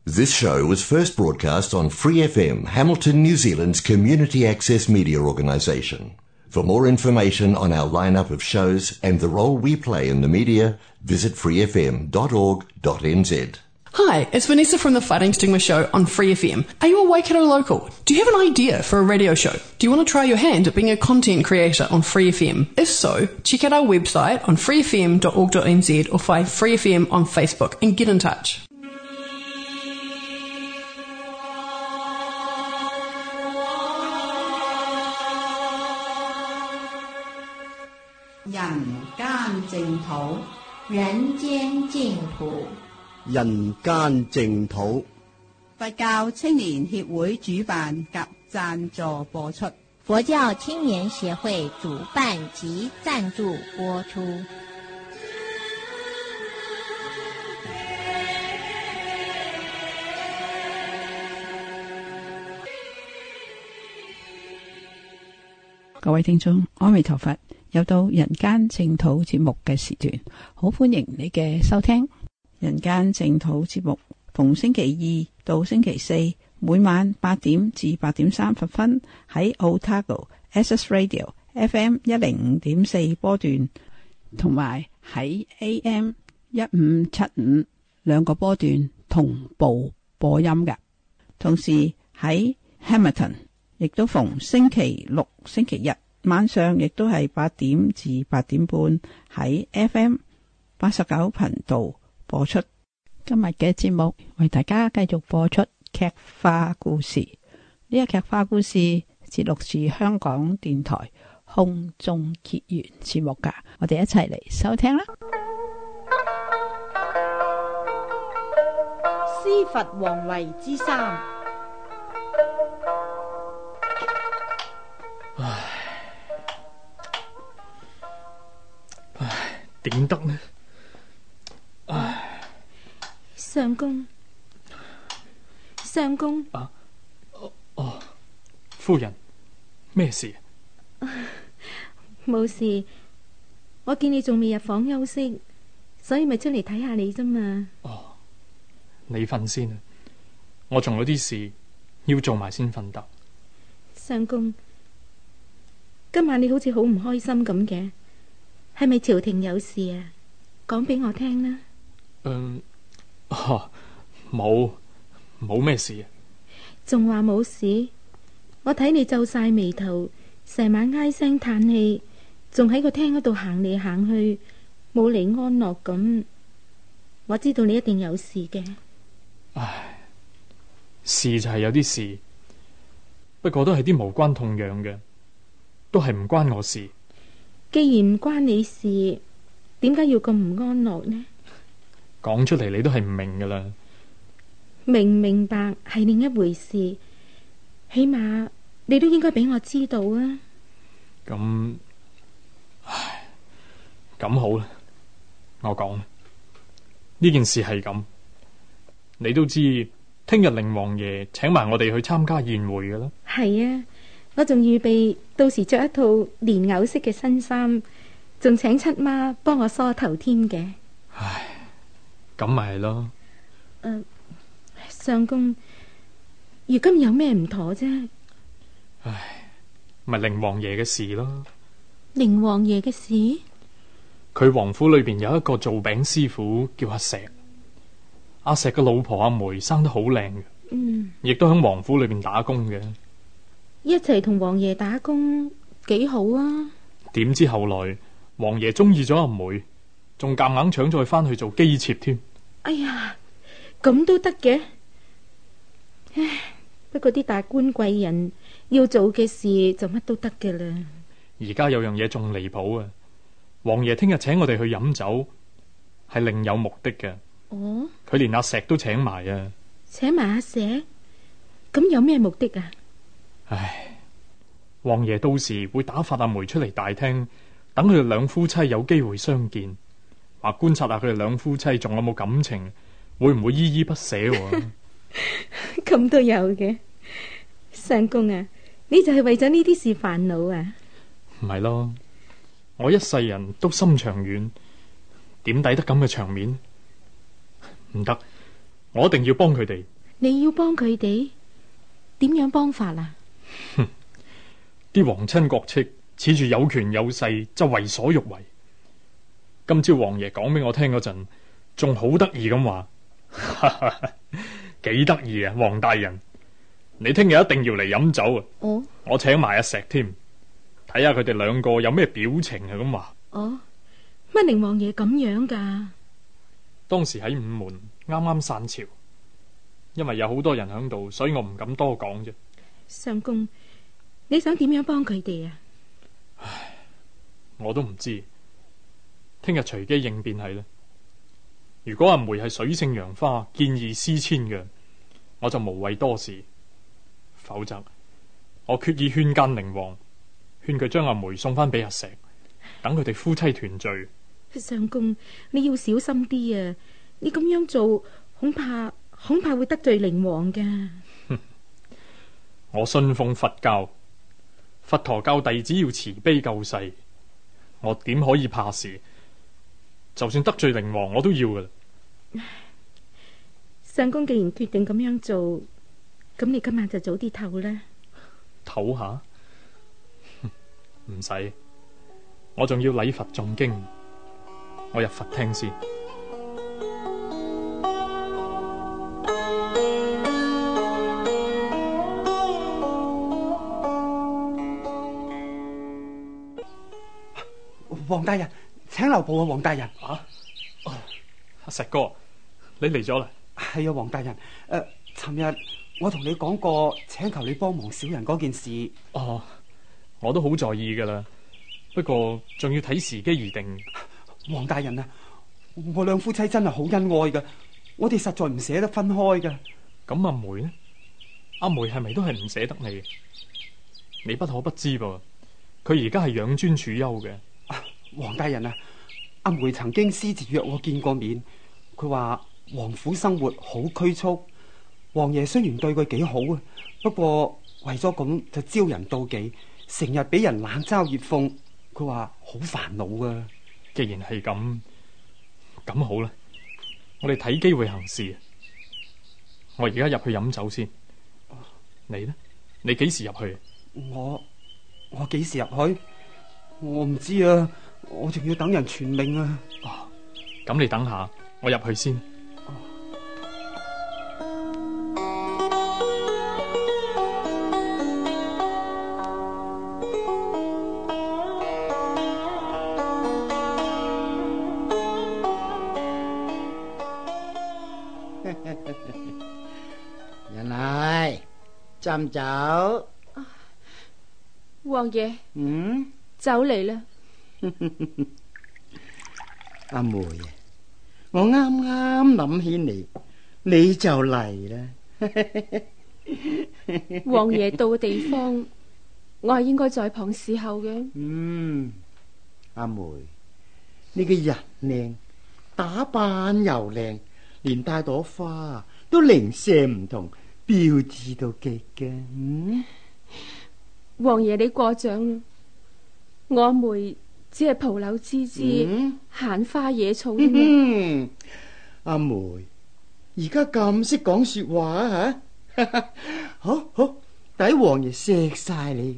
This show was first broadcast on Free FM, Hamilton, New Zealand's community access media organisation. For more information on our lineup of shows and the role we play in the media, visit freefm.org.nz. Hi, it's Vanessa from the Fighting Stigma Show on Free FM. Are you a Waikato local? Do you have an idea for a radio show? Do you want to try your hand at being a content creator on Free FM? If so, check out our website on freefm.org.nz or find Free FM on Facebook and get in touch. 人間淨土， 人間淨土。 佛教青年協會主辦及贊助播出。 佛教青年協會主辦及贊助播出。 各位聽眾，阿彌陀佛，又到人間淨土節目嘅時段，好歡迎你嘅收聽。人間淨土節目逢星期二到星期四，每晚8點至8點30分喺 Otago Access Radio FM 105.4波段，同埋喺 AM 1575兩個波段同步播音嘅。同時喺 Hamilton亦都逢星期六、星期日晚上，亦都係8點至8點半喺 FM 89頻道播出。今日嘅節目為大家繼續播出劇化故事。呢個劇化故事節錄自香港電台空中結緣節目噶，我哋一齊嚟收聽啦。 師佛皇位之三。 點得呢？ 相公，相公。 夫人，咩事？ 冇事，我見你仲未入房休息，所以咪出嚟睇下你啫嘛。 你瞓先啊，我仲有啲事要做埋先瞓得。 相公，今晚你好似好唔開心咁嘅，係咪朝廷有事啊？講俾我聽啦。 冇咩事。 仲話冇事？我睇你皺晒眉頭，成晚唉聲嘆氣，仲喺個廳嗰度行嚟行去，冇嚟安樂咁。我知道你一定有事嘅。 事就係有啲事，不過都係啲無關痛癢嘅，都係唔關我事。 既然唔關你事，點解要咁唔安樂呢？ 講出嚟你都係唔明噶啦。 明唔明白係另一回事，起碼你都應該俾我知道啊。 咁好啦，我講呢件事係咁，你都知聽日令王爺請埋我哋去參加宴會噶啦。 係啊，我仲預備到時着一套蓮藕色嘅新衫，仲請七媽幫我梳頭添嘅。 咁咪係咯。 相公，如今有咩唔妥啫？ 咪令王爺嘅事咯。 令王爺嘅事？ 佢王府裏邊有一個做餅師傅叫阿石，阿石嘅老婆阿梅生得好靚嘅，亦都喺王府裏邊打工嘅。 一齊同王爺打工幾好啊！ 點知後來王爺中意咗阿梅，仲夾硬搶咗佢翻去做姬妾添。 哎呀，咁都得嘅？唉，不過啲達官貴人要做嘅事就乜都得嘅啦。 而家有樣嘢仲離譜啊！王爺聽日請我哋去飲酒，係另有目的嘅。佢連阿石都請埋啊！ 請埋阿石？咁有咩目的啊？ 王爺到時會打發阿梅出嚟大廳，等佢哋兩夫妻有機會相見，話觀察下佢哋兩夫妻仲有冇感情，會唔會依依不捨喎？ 咁都有嘅。相公啊，你就係為咗呢啲事煩惱啊？ 唔係咯，我一世人都心長遠，點抵得咁嘅場面？唔得， 我一定要幫佢哋。 你要幫佢哋？點樣幫法啊？ 啲皇親國戚恃住有權有勢就為所欲為。今朝王爺講俾我聽嗰陣，仲好得意咁話，幾得意啊！王大人，你聽日一定要嚟飲酒啊！ 哦， 我請埋阿石添，睇下佢哋兩個有咩表情啊！咁話。 哦，乜寧王爺咁樣噶？ 當時喺午門啱啱散朝，因為有好多人喺度，所以我唔敢多講啫。 相公，你想點樣幫佢哋啊？ 唉，我都唔知，聽日隨機應變係啦。如果阿梅係水性楊花，見異思遷嘅，我就無謂多事；否則，我決意勸諫寧王，勸佢將阿梅送翻俾阿石，等佢哋夫妻團聚。 相公，你要小心啲啊！你咁樣做，恐怕會得罪寧王噶。 我信奉佛教，佛陀教弟子要慈悲救世，我點可以怕事？就算得罪寧王，我都要噶啦。 相公既然決定咁樣做，咁你今晚就早啲唞啦。 唞下？唔使，我仲要禮佛誦經。我入佛廳先。 黃大人，請留步啊！黃大人， 阿石哥，你嚟咗啦？ 係啊，黃大人。尋日我同你講過，請求你幫忙小人嗰件事。 哦，我都好在意噶啦，不過仲要睇時機而定。 黃大人啊，我兩夫妻真係好恩愛噶，我哋實在唔捨得分開噶。 咁阿梅呢？阿梅係咪都係唔捨得你？你不可不知噃，佢而家係養尊處優嘅。 黃大人啊，阿梅曾經私自約我見過面，佢話王府生活好拘束，王爺雖然對佢幾好啊，不過為咗咁就招人妒忌，成日俾人冷嘲熱諷，佢話好煩惱啊。 既然係咁，咁好啦，我哋睇機會行事。我而家入去飲酒先。你呢？你幾時入去？ 我幾時入去？我唔知啊，我仲要等人傳命啊。 咁你等下，我入去先。 人嚟斟酒。 王爺，酒嚟啦。 阿梅啊，我啱啱諗起你就嚟啦。 王爺到嘅地方，我係應該在旁侍候嘅。 阿梅，你嘅人靚，打扮又靚，連帶朵花都零舍唔同，標緻到極嘅。 王爺你過獎啦，我阿梅只係蒲柳枝枝，閒花野草啫嘛。 阿梅而家咁識講說話吓，好抵王爺錫晒你。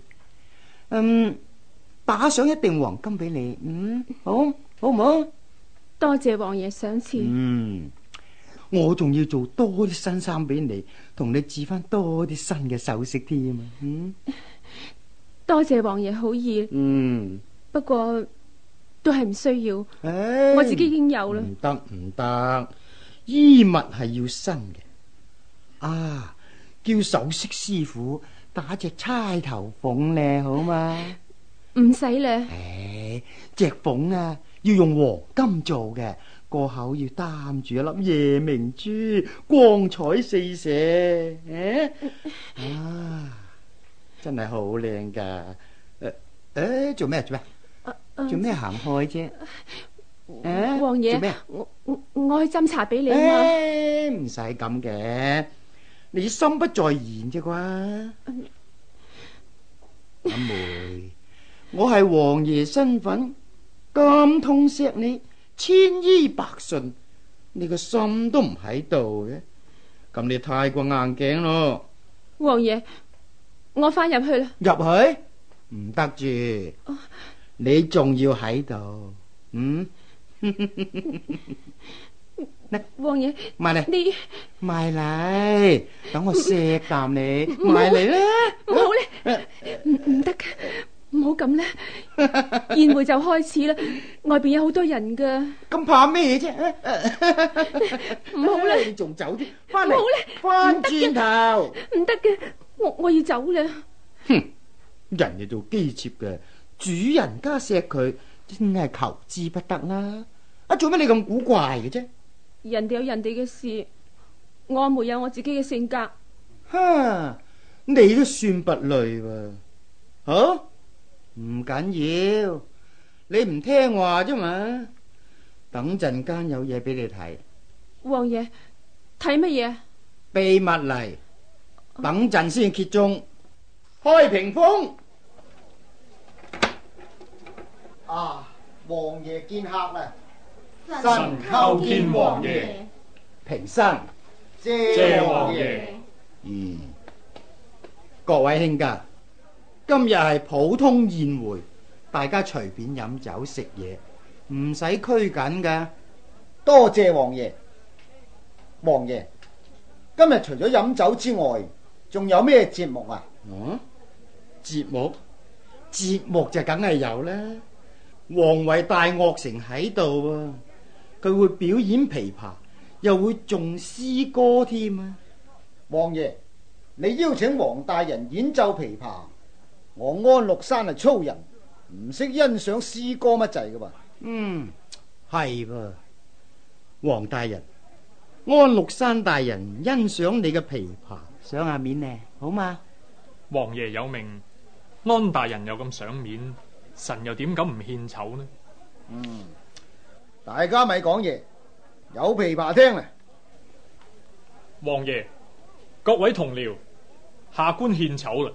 打上一錠黃金俾你，好唔好？ 多謝王爺賞賜。 我仲要做多啲新衫俾你，同你置翻多啲新嘅首飾添啊！ 多謝王爺好意。不過都係唔需要，我自己已經有啦。 唔得，衣物係要新嘅。叫首飾師傅打隻釵頭鳳咧，好嘛？ 唔使咧。 隻鳳啊，要用黃金做嘅，個口要擔住一粒夜明珠，光彩四射。真係好靚噶。做咩行開啫？ 王爺， 做咩？ 我去斟茶俾你啊嘛。 唔使咁嘅，你心不在焉啫啩。阿梅，我係王爺身份咁痛錫你，千依百順，你個心都唔喺度嘅， 咁你太過硬頸咯。 王爺，我翻入去啦。 入去唔得住，你仲要喺度。 王爺， 埋嚟， 你埋嚟，等我錫啖你，埋嚟啦。 唔好咧，唔得嘅，唔好咁咧。宴會就開始啦，外邊有好多人噶。 咁怕咩啫？ 唔好咧， 你仲走啲，翻嚟， 唔好咧， 翻轉頭， 唔得嘅，我要走啦。 哼，人哋做姬妾嘅，主人家錫佢，真係求之不得啦。做咩你咁古怪嘅啫？ 人哋有人哋嘅事，我沒有我自己嘅性格。 哈，你都算不累喎。好，唔緊要，你唔聽話啫嘛。等陣間有嘢俾你睇。 王爺，睇乜嘢？ 秘密嚟，等陣先揭盅。開屏風。啊，王爺見客啦！ 臣叩見王爺。 平身， 謝王爺。 各位卿家，今日係普通宴會，大家隨便飲酒食嘢，唔使拘謹噶。 多謝王爺。王爺，今日除咗飲酒之外，仲有咩節目啊？ 節目就梗係有啦。王位大樂城喺度啊，佢會表演琵琶，又會誦詩歌添啊。 王爺，你邀請王大人演奏琵琶，我安祿山係粗人，唔識欣賞詩歌乜滯噶噃。 係噃，王大人，安祿山大人欣賞你嘅琵琶，賞下面呢，好嗎？ 王爺有命，安大人又咁賞面，臣又點敢唔獻醜呢？ 大家咪講嘢，有琵琶聽啊！ 王爺，各位同僚，下官獻醜啦！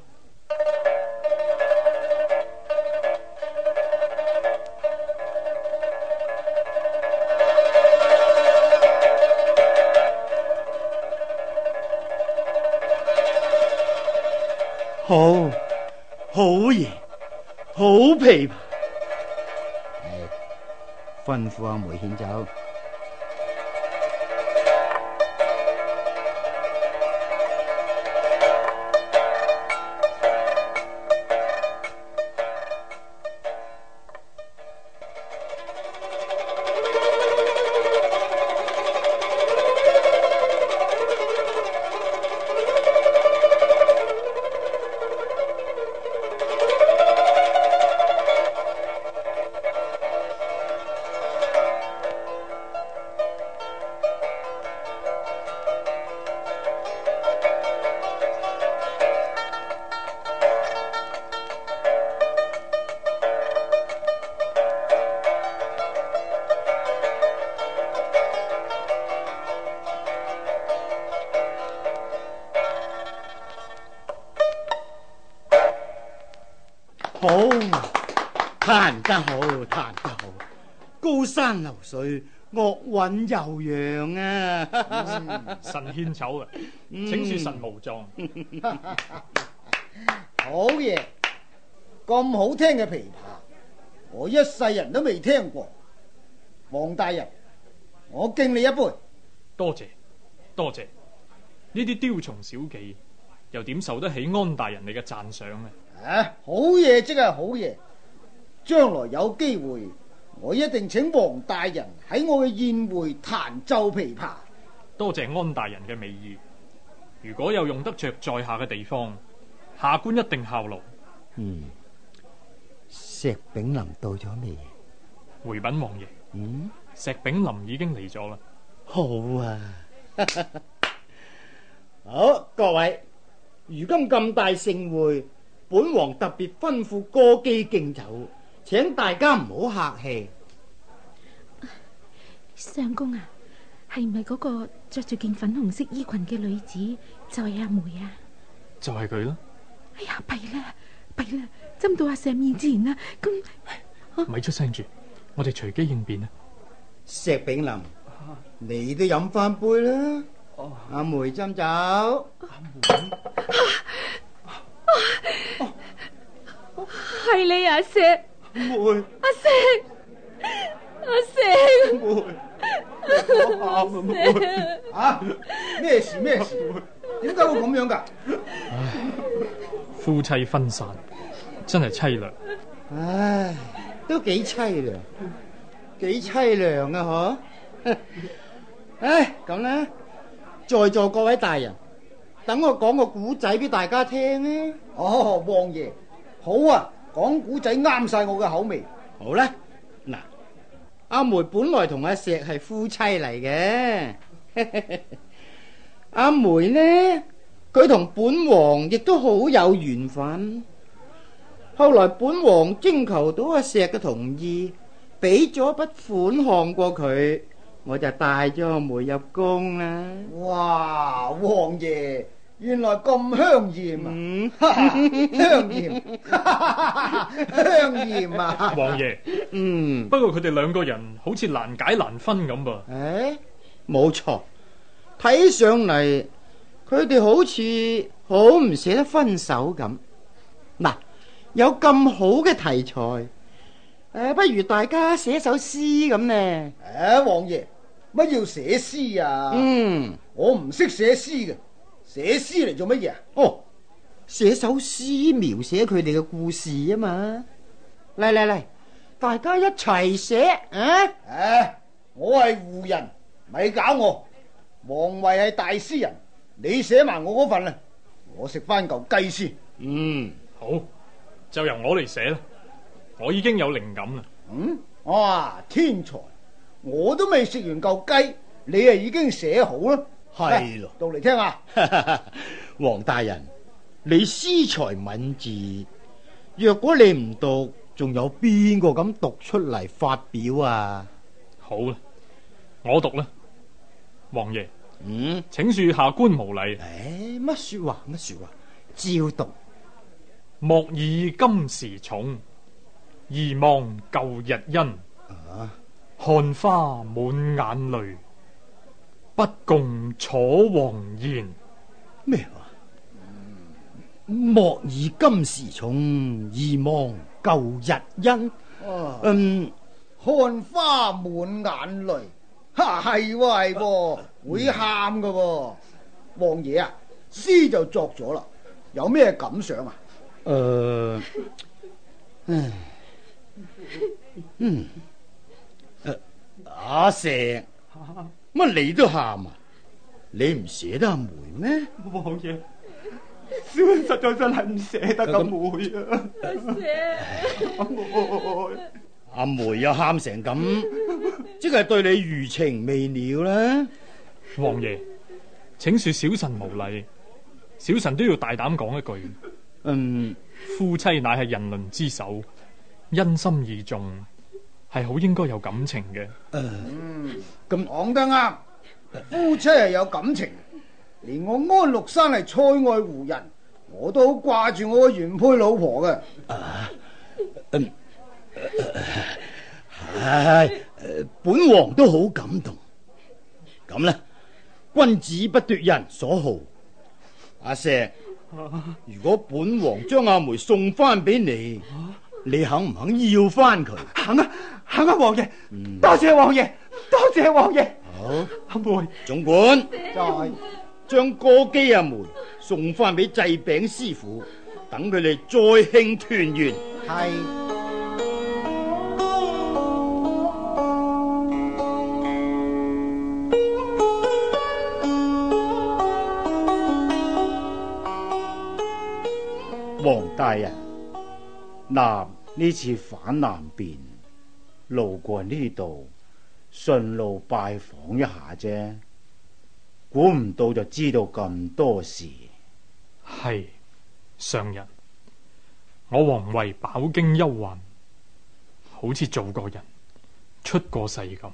好嘢，好琵琶。吩咐阿梅獻酒。好，彈得好，彈得好，高山流水，樂韻悠揚啊！ 臣獻醜啦，請恕臣無狀。 好嘢，咁好聽嘅琵琶，我一世人都未聽過。王大人，我敬你一杯。 多謝，多謝。呢啲雕蟲小技，又點受得起安大人你嘅讚賞呢？ 好嘢即係好嘢，將來有機會，我一定請王大人喺我嘅宴會彈奏琵琶。 多謝安大人嘅美意，如果有用得着在下嘅地方，下官一定效勞。 石炳林到咗未？ 回稟王爺，石炳林已經嚟咗啦。 好啊，好，各位，如今咁大盛會，本王特別吩咐歌姬敬酒，請大家唔好客氣。 相公啊，係唔係嗰個着住件粉紅色衣裙嘅女子就係阿梅啊？ 就係佢啦。 哎呀，弊啦，弊啦，斟到阿石面前啦。咁， 咪出聲住，我哋隨機應變啊！ 石炳林，你都飲翻杯啦。 阿梅斟酒。 係你阿石， 梅， 阿石，阿石， 梅，我喊啊梅。 啊，咩事咩事？點解會咁樣噶？ 夫妻分散，真係凄涼。 唉，都幾凄涼，幾凄涼啊！嗬。唉，咁咧，在座各位大人，等我講個古仔俾大家聽啊！ 哦，王爺，好啊，講古仔啱晒我嘅口味。 好啦，嗱，阿梅本來同阿石係夫妻嚟嘅，阿梅呢，佢同本王亦都好有緣分。後來本王徵求到阿石嘅同意，俾咗筆款項過佢，我就帶咗阿梅入宮啦。 哇，王爺原來咁香艷啊！香艷，香艷啊！ 王爺，不過佢哋兩個人好似難解難分咁噃。 誒，冇錯，睇上嚟佢哋好似好唔捨得分手咁。嗱，有咁好嘅題材，不如大家寫首詩咁呢？ 王爺，乜要寫詩啊？我唔識寫詩嘅，寫詩嚟做乜嘢啊？ 哦，寫首詩描寫佢哋嘅故事啊嘛！嚟嚟嚟，大家一齊寫啊！ 我係胡人，咪搞我。王維係大詩人，你寫埋我嗰份啦，我食翻嚿雞先。 好，就由我嚟寫啦。我已經有靈感啦。 哇，天才！我都未食完嚿雞，你啊已經寫好啦。 係咯， 讀嚟聽下。 黃大人，你詩才敏捷，若果你唔讀，仲有邊個敢讀出嚟發表啊？ 好啦，我讀啦。王爺，請恕下官無禮。 乜說話乜說話，照讀。 莫以今時重，疑忘舊日恩。看花滿眼淚，不共楚皇賢。 咩話？莫以今時重，疑忘舊日恩。 看花滿眼淚，係喎，會喊噶喎。王爺啊，詩就作咗啦，有咩感想啊？ 阿石，乜你都喊啊？你唔捨得阿梅咩？ 王爺，小人實在真係唔捨得阿梅啊！阿梅， 阿梅又喊成咁，即係對你餘情未了啦。 王爺，請恕小臣無禮，小臣都要大膽講一句。夫妻乃係人倫之首，因心而重，係好應該有感情嘅。 咁講得啱，夫妻係有感情。連我安祿山係塞外胡人，我都好掛住我個原配老婆嘅。 本王都好感動。咁啦，君子不奪人所好。阿石，如果本王將阿梅送翻俾你，你肯唔肯要翻佢？ 肯啊，肯啊，王爺，多謝王爺，多謝王爺。 好， 阿梅， 總管再將歌姬阿梅送翻俾祭餅師傅，等佢哋再慶團圓。 係。 黃大人，南呢次返南邊，路過呢度，順路拜訪一下啫，估唔到就知道咁多事。 係上人，我王為飽經憂患，好似做過人，出過世咁。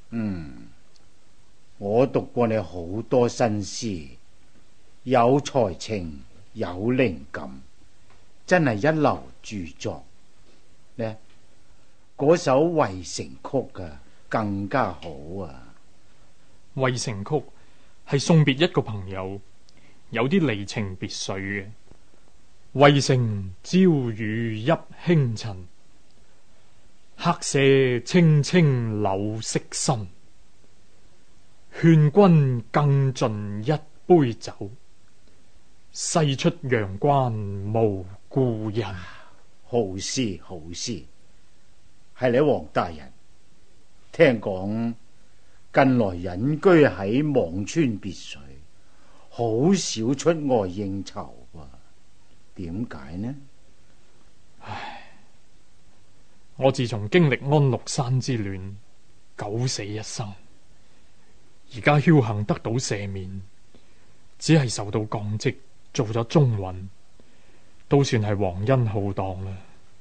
我讀過你好多新詩，有才情，有靈感，真係一流著作呢。嗰首《渭城曲》啊，更加好啊！ 渭城曲係送別一個朋友，有啲離情別緒嘅。渭城朝雨浥輕塵，客舍青青柳色新。勸君更盡一杯酒，西出陽關無故人。 好詩好詩，係你黃大人。聽講近來隱居喺輞川別墅，好少出外應酬喎。點解呢？ 唉，我自從經歷安祿山之亂，九死一生，而家僥倖得到赦免，只係受到降職，做咗中允，都算係皇恩浩蕩啦。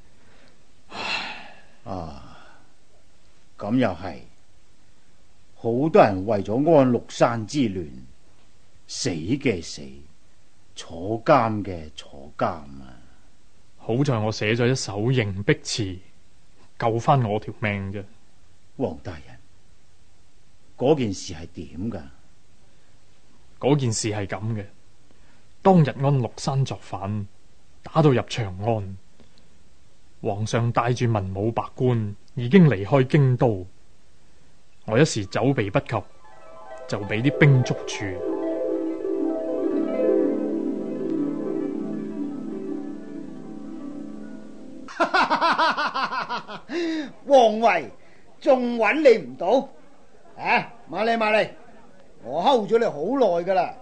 啊，咁又係，好多人為咗安祿山之亂，死嘅死，坐監嘅坐監啊！ 好在我寫咗一首迎璧詞，救翻我條命啫。 黃大人，嗰件事係點噶？ 嗰件事係咁嘅，當日安祿山作反，打到入長安，皇上帶住文武百官已經離開京都，我一時走避不及，就俾啲兵捉住。 王維仲揾你唔到啊！瑪麗，我睺咗你好耐噶啦。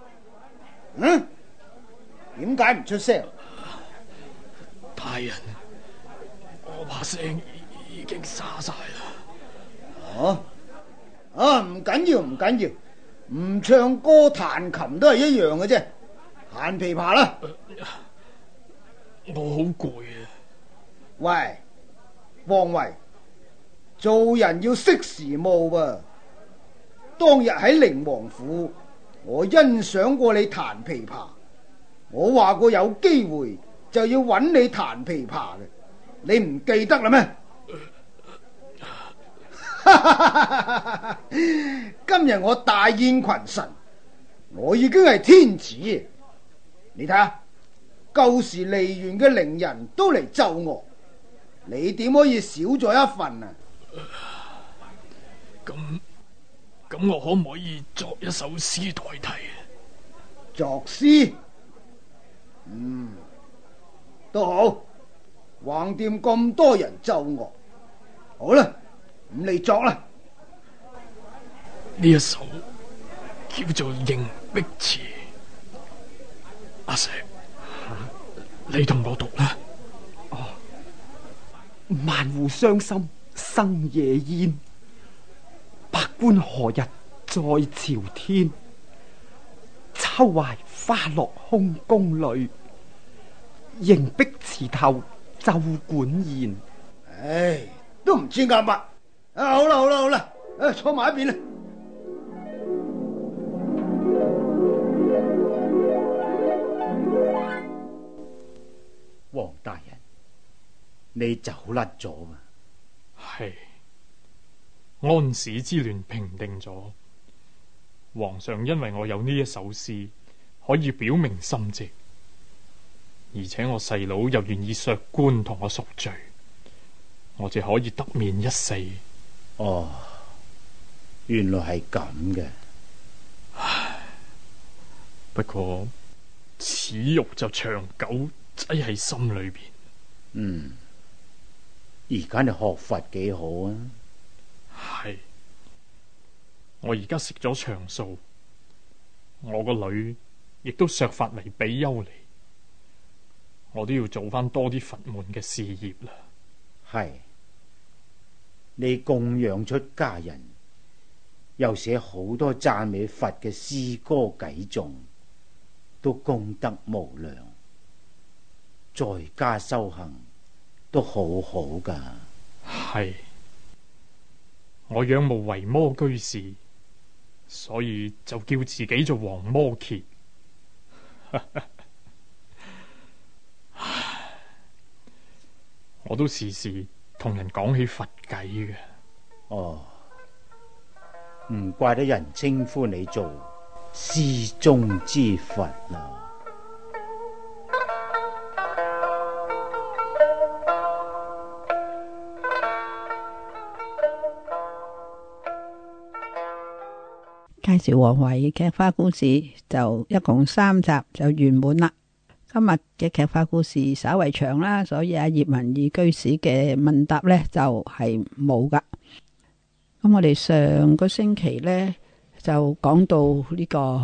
點解唔出聲？ 大人，我把聲已經沙晒啦。 唔緊要，唔唱歌彈琴都係一樣嘅啫。彈琵琶啦。 我好攰啊。 喂，王維，做人要識時務噃。當日喺寧王府，我欣賞過你彈琵琶，我話過有機會就要揾你彈琵琶嘅，你唔記得啦咩？今日我大宴群臣，我已經係天子，你睇下，舊時梨園嘅伶人都嚟奏樂，你點可以少咗一份啊？ 咁我可唔可以作一首詩代替？ 作詩？都好，橫掂咁多人奏樂，好啦，咁你作啦。 呢一首叫做《迎璧詞》，阿石，你同我讀啦。 萬戶傷心生夜煙，百官何日在朝天？秋懷花落空宮裏，迎璧詞頭奏管弦。 唉，都唔知啱乜。好啦，坐埋一邊啦。 黃大人，你走甩咗啊？ 係，安史之亂平定咗，皇上因為我有呢一首詩，可以表明心跡，而且我細佬又願意削官同我贖罪，我就可以得免一死。 哦，原來係咁嘅。 唉，不過恥辱就長久擠喺心裏邊。 而家你學佛幾好啊？ 係，我而家食咗長素，我個女亦都削髮為比丘尼，我都要做翻多啲佛門嘅事業啦。 係，你供養出家人，又寫好多讚美佛嘅詩歌偈頌，都功德無量，在家修行都好好噶。 係，我仰慕維摩居士，所以就叫自己做黃摩羯。我都時時同人講起佛偈嘅。 哦，唔怪得人稱呼你做詩中之佛啦。 介紹王維嘅劇花故事就一共3集就圓滿啦。今日嘅劇花故事稍為長啦，所以葉文義居士嘅問答呢就係冇噶。咁我哋上個星期呢就講到呢個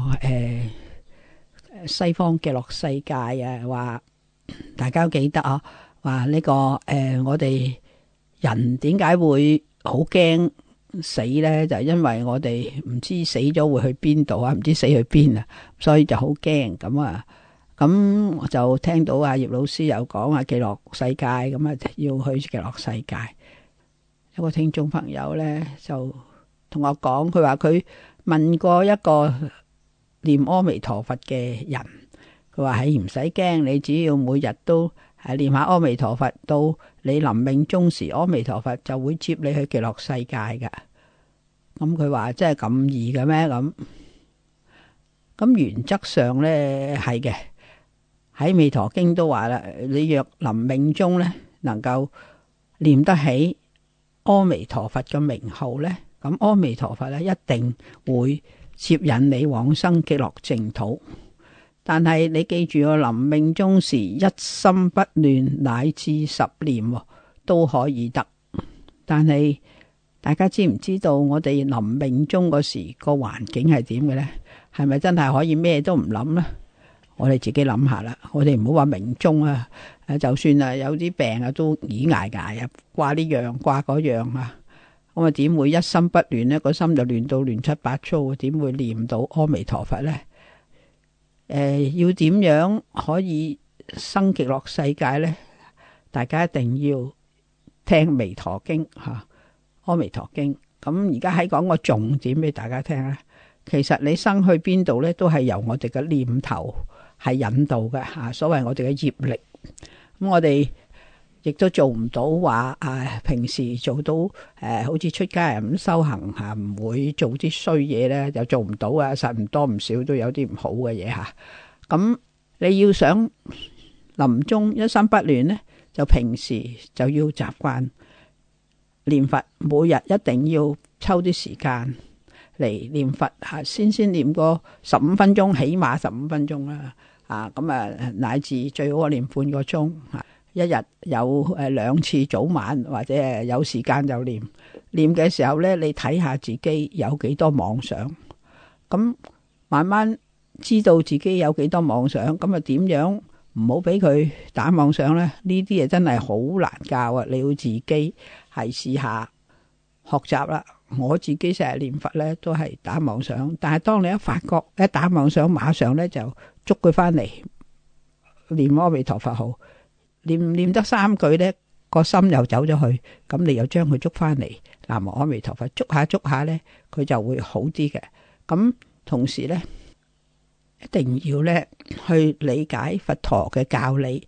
西方極樂世界啊，話大家記得啊，話呢個我哋人點解會好驚死呢？就因為我哋唔知死咗會去邊度啊，唔知死去邊啊，所以就好驚咁啊。咁我就聽到葉老師有講極樂世界，咁啊要去極樂世界。有個聽眾朋友呢就同我講，佢話佢問過一個念阿彌陀佛嘅人，佢話係唔使驚，你只要每日都念下阿彌陀佛，到你臨命終時，阿彌陀佛就會接你去極樂世界㗎。咁佢話真係咁易嘅咩？咁原則上呢係嘅。喺《彌陀經》都話啦，你若臨命終呢，能夠念得起阿彌陀佛嘅名號呢，咁阿彌陀佛呢一定會接引你往生極樂淨土。但係你記住，我臨命終時一心不亂，乃至10念都可以得。但係大家知唔知道我哋臨命終嗰時個環境係點嘅呢？係咪真係可以咩都唔諗呢？我哋自己諗下啦，我哋唔好話命終啊，就算啊有啲病啊都倚挨挨啊，掛呢樣掛嗰樣啊，咁啊點會一心不亂呢？個心就亂到亂七八糟，點會念到阿彌陀佛呢？要點樣可以生極樂世界呢？大家一定要聽彌陀經吓，阿彌陀經。咁而家喺講個重點俾大家聽咧，其實你生去邊度呢，都係由我哋嘅念頭係引導嘅吓，所謂我哋嘅業力。咁我哋亦都做唔到話平時做到好似出家人咁修行吓，唔會做啲衰嘢咧，就做唔到啊！實唔多唔少都有啲唔好嘅嘢吓。咁你要想臨終一心不亂呢，就平時就要習慣念佛，每日一定要抽啲時間嚟念佛吓，先念個15分鐘，起碼15分鐘啦。咁乃至最好念半個鐘，一日有2次早晚，或者有時間就念。念嘅時候呢，你睇下自己有幾多妄想，咁慢慢知道自己有幾多妄想，咁啊點樣唔好俾佢打妄想呢？呢啲嘢真係好難教啊！你要自己係試下學習啦。我自己成日念佛呢都係打妄想，但係當你一發覺一打妄想，馬上呢就捉佢翻嚟念阿彌陀佛號，念得3句呢，個心又走咗去，咁你又將佢捉翻嚟南無阿彌陀佛，捉下呢，佢就會好啲嘅。咁同時呢，一定要呢去理解佛陀嘅教理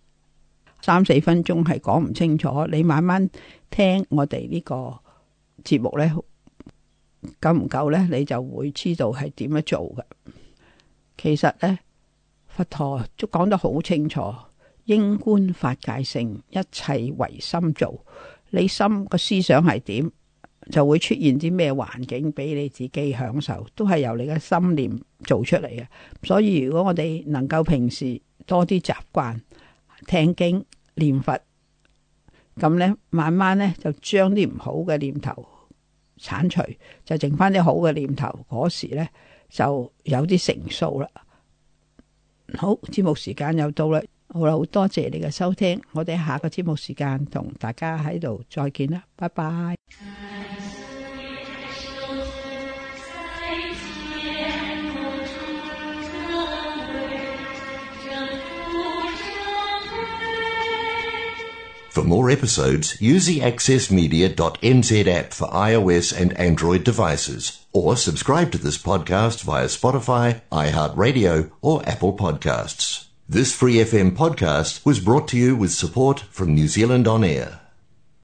，3-4分鐘係講唔清楚，你慢慢聽我哋呢個節目呢，夠唔夠呢？你就會知道係點樣做嘅。其實呢，佛陀都講得好清楚，應觀法界性，一切唯心造。你心個思想係點，就會出現啲咩環境俾你自己享受，都係由你嘅心念做出嚟嘅。所以如果我哋能夠平時多啲習慣聽經念佛，咁呢慢慢呢就將啲唔好嘅念頭鏟除，就剩翻啲好嘅念頭，嗰時呢就有啲成數啦。好，節目時間又到啦，好啦，好多謝你嘅收聽，我哋下個節目時間同大家喺度再見啦，拜拜。 For more episodes, use the accessmedia.nz app for iOS and Android devices, or subscribe to this podcast via Spotify, iHeartRadio, or Apple Podcasts. This Free FM podcast was brought to you with support from New Zealand On Air.